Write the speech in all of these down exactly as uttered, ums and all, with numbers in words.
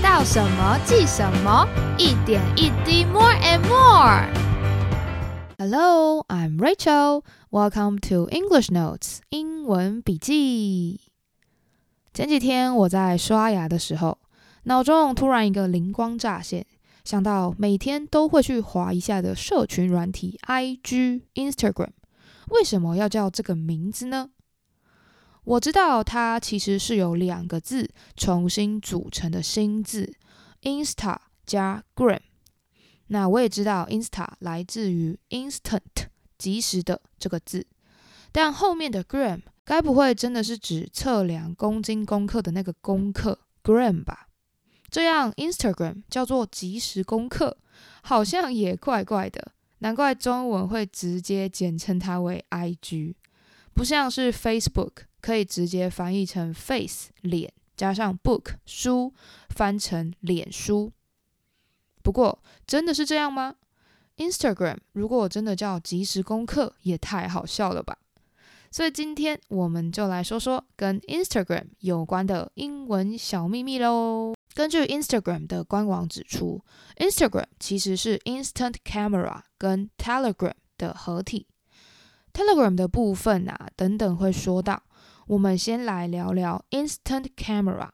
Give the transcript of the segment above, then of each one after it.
到什么记什么，一点一滴 more and more。Hello, I'm Rachel. Welcome to English Notes 英文笔记。前几天我在刷牙的时候，脑中突然一个灵光乍现，想到每天都会去滑一下的社群软体 I G、Instagram， 为什么要叫这个名字呢？我知道它其实是由两个字重新组成的新字 Insta 加 Gram。 那我也知道 Insta 来自于 Instant 即时的这个字，但后面的 Gram 该不会真的是指测量公斤公克的那个公克 Gram 吧？这样 Instagram 叫做即时公克，好像也怪怪的，难怪中文会直接简称它为 I G， 不像是 Facebook可以直接翻译成 face 脸加上 book 书，翻成脸书。不过真的是这样吗？ Instagram 如果真的叫即时公克，也太好笑了吧。所以今天我们就来说说跟 Instagram 有关的英文小秘密咯。根据 Instagram 的官网指出， Instagram 其实是 Instant Camera 跟 Telegram 的合体。 Telegram 的部分啊，等等会说到。我们先来聊聊 Instant Camera。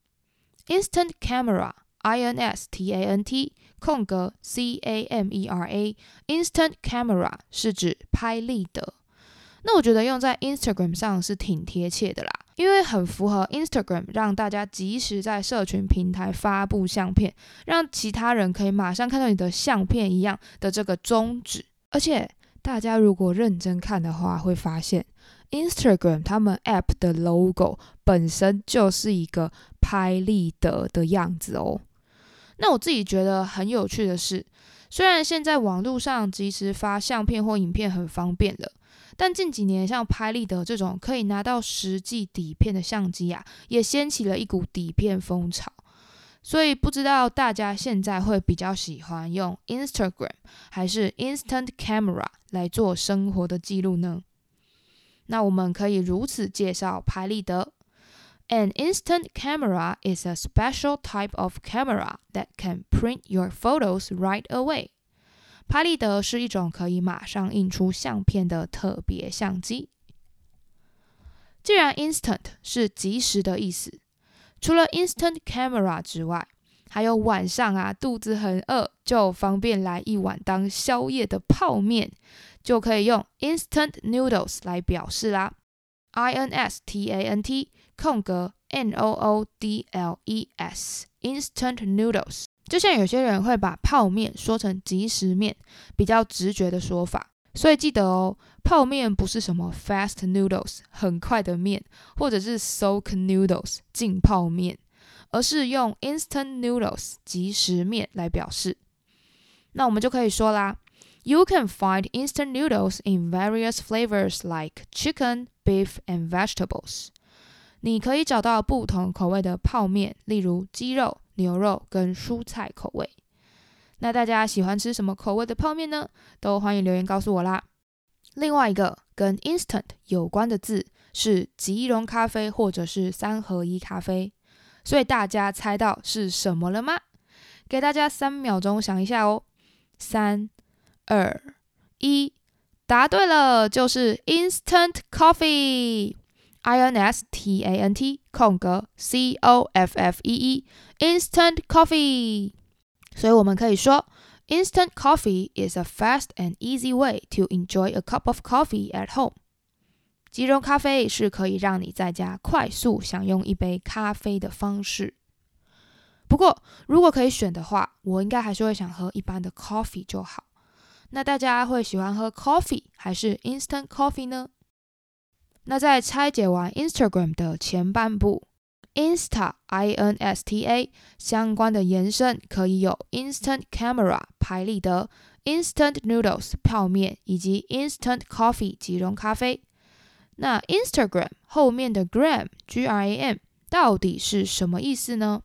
Instant Camera I N S T A N T 空格 C A M E R A Instant Camera 是指拍立得。那我觉得用在 Instagram 上是挺贴切的啦，因为很符合 Instagram 让大家即时在社群平台发布相片，让其他人可以马上看到你的相片一样的这个宗旨。而且大家如果认真看的话，会发现Instagram 他们 App 的 logo 本身就是一个拍立得的样子哦。那我自己觉得很有趣的是，虽然现在网络上即时发相片或影片很方便了，但近几年像拍立得这种可以拿到实际底片的相机啊，也掀起了一股底片风潮。所以不知道大家现在会比较喜欢用 Instagram 还是 Instant Camera 来做生活的记录呢？那我们可以如此介绍拍立得。An instant camera is a special type of camera that can print your photos right away. 拍立得是一种可以马上印出相片的特别相机。既然 instant 是即时的意思，除了 instant camera 之外，还有晚上啊肚子很饿就方便来一碗当宵夜的泡面，就可以用 instant noodles 来表示啦。 I N S T A N T 空格 N O O D L E S Instant Noodles。 就像有些人会把泡面说成即食面，比较直觉的说法。所以记得哦，泡面不是什么 fast noodles 很快的面，或者是 soak noodles 浸泡面，而是用 instant noodles 即食面来表示。那我们就可以说啦， You can find instant noodles in various flavors like chicken, beef, and vegetables. 你可以找到不同口味的泡面，例如鸡肉、牛肉跟蔬菜口味。那大家喜欢吃什么口味的泡面呢？都欢迎留言告诉我啦。另外一个跟 instant 有关的字是即溶咖啡或者是三合一咖啡，所以大家猜到是什么了吗？给大家三秒钟想一下哦。三、二、一，答对了，就是 instant coffee。 I N S T A N T 空格 C O F F E E Instant coffee。 所以我们可以说 Instant coffee is a fast and easy way to enjoy a cup of coffee at home。 即溶咖啡是可以让你在家快速享用一杯咖啡的方式。不过如果可以选的话，我应该还是会想喝一般的 coffee 就好。那大家会喜欢喝 coffee 还是 instant coffee 呢？那在拆解完 Instagram 的前半部 Insta I N S T A 相关的延伸可以有 Instant Camera 拍立得、Instant Noodles 泡面以及 Instant Coffee 即溶咖啡。那 Instagram 后面的 Gram G R A M 到底是什么意思呢？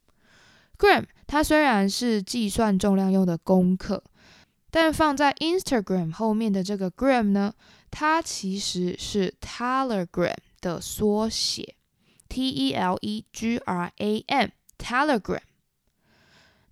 Gram 它虽然是计算重量用的公克，但放在 Instagram 后面的这个 Gram 呢，它其实是 Telegram 的缩写 T E L E G R A M Telegram。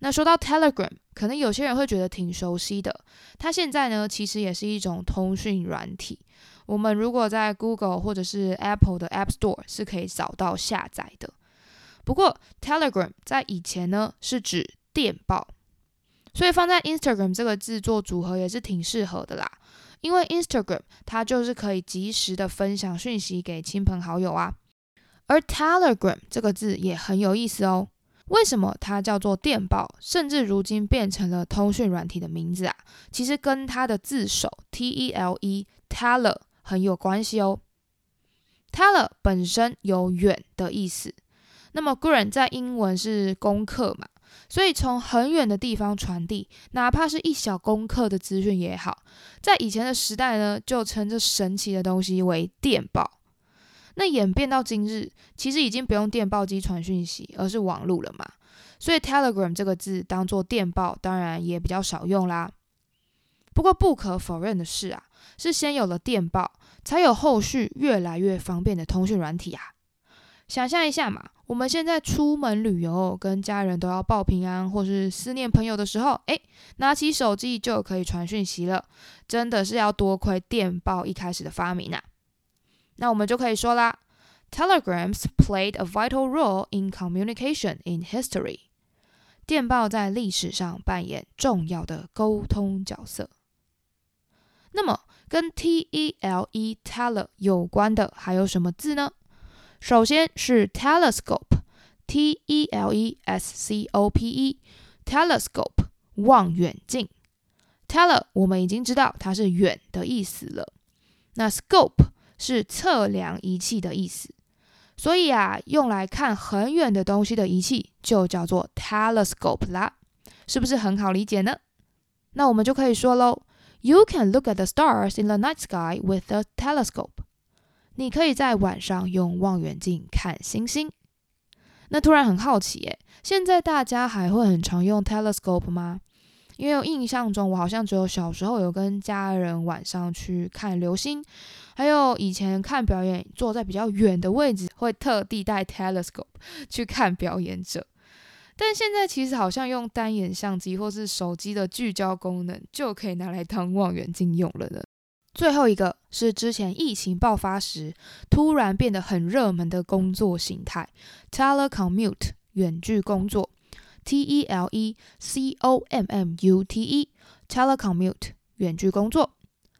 那说到 Telegram， 可能有些人会觉得挺熟悉的，它现在呢其实也是一种通讯软体，我们如果在 Google 或者是 Apple 的 App Store 是可以找到下载的。不过 Telegram 在以前呢是指电报，所以放在 Instagram 这个字做组合也是挺适合的啦，因为 Instagram 它就是可以及时的分享讯息给亲朋好友啊。而 Telegram 这个字也很有意思哦，为什么它叫做电报，甚至如今变成了通讯软体的名字啊？其实跟它的字首 T E L E Teller 很有关系哦。Teller 本身有远的意思，那么 Grant 在英文是功课嘛，所以从很远的地方传递，哪怕是一小功课的资讯也好，在以前的时代呢，就称这神奇的东西为电报。那演变到今日，其实已经不用电报机传讯息，而是网路了嘛，所以 Telegram 这个字当作电报，当然也比较少用啦。不过不可否认的是啊，是先有了电报，才有后续越来越方便的通讯软体啊。想象一下嘛，我们现在出门旅游，跟家人都要报平安或是思念朋友的时候，诶，拿起手机就可以传讯息了，真的是要多亏电报一开始的发明啊。那我们就可以说啦 ，Telegrams played a vital role in communication in history。电报在历史上扮演重要的沟通角色。那么跟 T E L E Teller 有关的还有什么字呢？首先是 telescope， T E L E S C O P E， telescope 望远镜。Teller 我们已经知道它是远的意思了，那 scope 是测量仪器的意思，所以啊，用来看很远的东西的仪器就叫做 telescope 啦，是不是很好理解呢？那我们就可以说咯 You can look at the stars in the night sky with a telescope。 你可以在晚上用望远镜看星星。那突然很好奇耶，现在大家还会很常用 telescope 吗？因为我印象中我好像只有小时候有跟家人晚上去看流星，还有以前看表演坐在比较远的位置会特地带 telescope 去看表演者，但现在其实好像用单眼相机或是手机的聚焦功能就可以拿来当望远镜用了呢。最后一个是之前疫情爆发时突然变得很热门的工作形态 telecommute 远距工作， T E L E C O M M U T E telecommute 远距工作。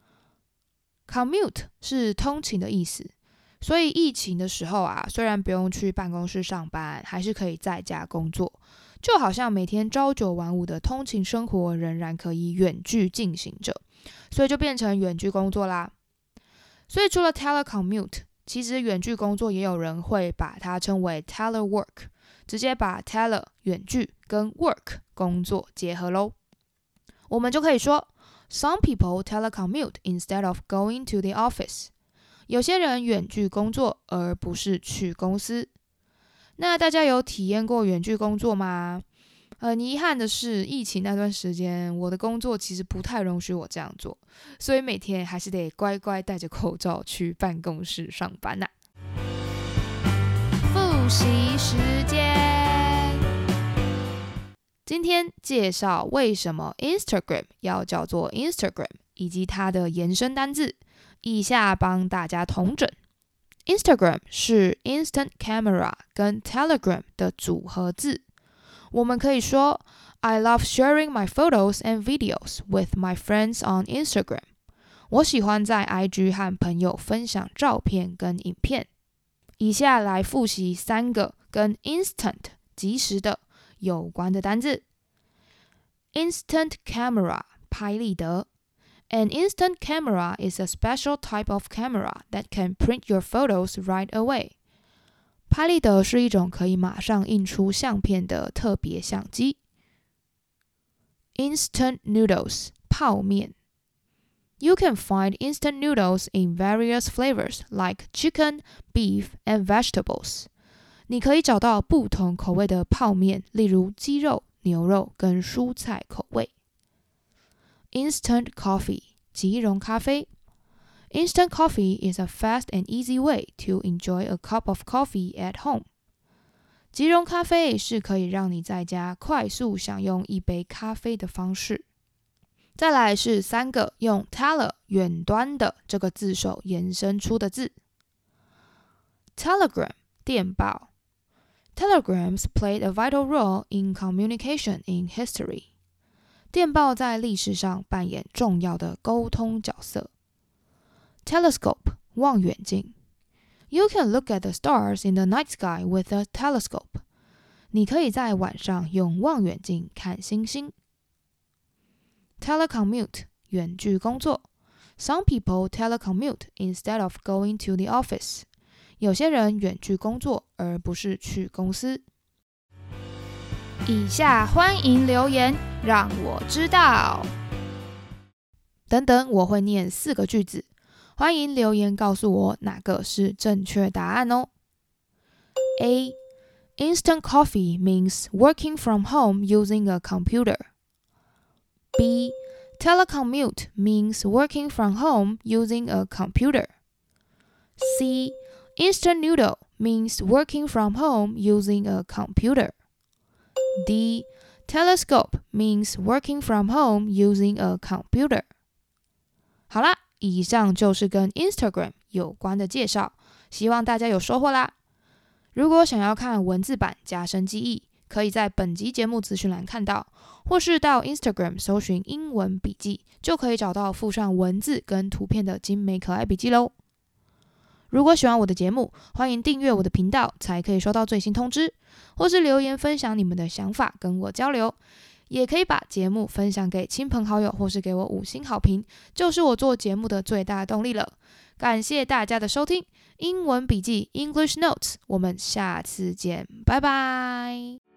commute 是通勤的意思，所以疫情的时候啊，虽然不用去办公室上班，还是可以在家工作，就好像每天朝九晚五的通勤生活仍然可以远距进行着，所以就变成远距工作啦。所以除了 telecommute， 其实远距工作也有人会把它称为 telework， 直接把 tele 远距跟 work 工作结合咯。我们就可以说 Some people telecommute instead of going to the office。 有些人远距工作而不是去公司。那大家有体验过远距工作吗？很遗憾的是，疫情那段时间，我的工作其实不太容许我这样做，所以每天还是得乖乖戴着口罩去办公室上班呐、啊。复习时间，今天介绍为什么 Instagram 要叫做 Instagram， 以及它的延伸单字，以下帮大家统整。Instagram 是 Instant Camera 跟 Telegram 的组合字。我们可以说 I love sharing my photos and videos with my friends on Instagram。 我喜欢在 I G 和朋友分享照片跟影片。以下来复习三个跟 Instant 即时的有关的单字。 Instant Camera 拍立得。An instant camera is a special type of camera that can print your photos right away。 拍立得是一种可以马上印出相片的特别相机。Instant noodles 泡面。You can find instant noodles in various flavors like chicken, beef, and vegetables。 你可以找到不同口味的泡面，例如鸡肉、牛肉跟蔬菜口味。Instant coffee 即溶咖啡。Instant coffee is a fast and easy way to enjoy a cup of coffee at home。 即溶咖啡是可以让你在家快速享用一杯咖啡的方式。再来是三个用 tele 远端的这个字首延伸出的字。Telegram 电报。Telegrams played a vital role in communication in history. 电报在历史上扮演重要的沟通角色。Telescope 望远镜。You can look at the stars in the night sky with a telescope. 你可以在晚上用望远镜看星星。Telecommute 远距工作。Some people telecommute instead of going to the office. 有些人远距工作，而不是去公司。以下欢迎留言，让我知道。等等，我会念四个句子，欢迎留言告诉我哪个是正确答案哦。A. Instant coffee means working from home using a computer. B. Telecommute means working from home using a computer. C. Instant noodle means working from home using a computer. D. Telescope means working from home using a computer. 好啦，以上就是跟 Instagram 有关的介绍，希望大家有收获啦。如果想要看文字版加深记忆，可以在本集节目资讯栏看到，或是到 Instagram 搜寻英文笔记，就可以找到附上文字跟图片的精美可爱笔记咯。如果喜欢我的节目，欢迎订阅我的频道，才可以收到最新通知，或是留言分享你们的想法跟我交流，也可以把节目分享给亲朋好友，或是给我五星好评，就是我做节目的最大动力了。感谢大家的收听，英文笔记 English Notes， 我们下次见，拜拜。